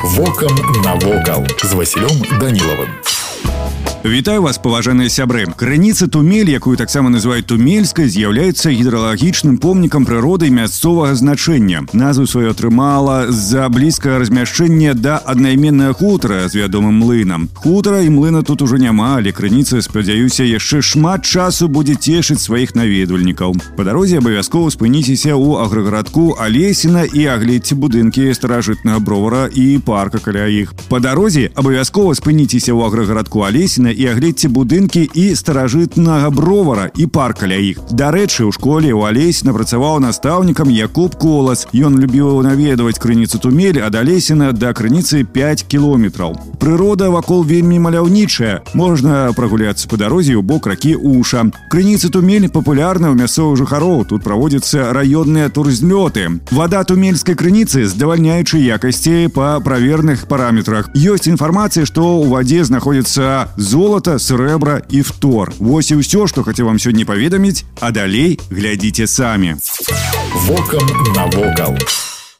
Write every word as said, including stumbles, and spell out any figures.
Вокам навокал з Васілём Данілавым. Вітаю вас, паважаныя сябры. Крыніца Тумель, якую таксама называюць Тумельскай, з'яўляецца гідралагічным помнікам прыроды мясцовага значэння. Назву сваю атрымала з-за блізкага размяшчэння да аднайменнага хутара з вядомым млынам. Хутара і млына тут ужо няма, але крыніца, спадзяюся, яшчэ шмат часу будзе цешыць сваіх наведвальнікаў. Па дарозе абавязкова спыніцеся ў аграгарадку Алесіна і агледзьце будынкі старажытнага бровара і парка каля іх. Па дарозе абавязкова спыніцеся ў аграгарадку Алесіна і агледзьце будынкі і старажытнага бровара і парк каля іх. Дарэчы, у школе ў Алесіна працаваў настаўнікам Якуб Колас. Ён любіў наведваць крыніцу Тумель ад Алесіна да крыніцы пяць кіламетраў. Прырода вакол вельмі маляўнічая. Можна прагуляцца па дарозе ў бок ракі Уша. Крыніца Тумель папулярна ў мясцовых жыхароў. Тут праводзяцца раённыя турзлёты. Вада тумельскай крыніцы здавальняючай якасці па праверных параметрах. Ёсць інфармацыя, што ў вадзе знаходзіцца золата, срэбра і фтор. Вось і ўсё, што хацеў вам сёння паведаміць, а далей глядзіце самі. Вокам навокал.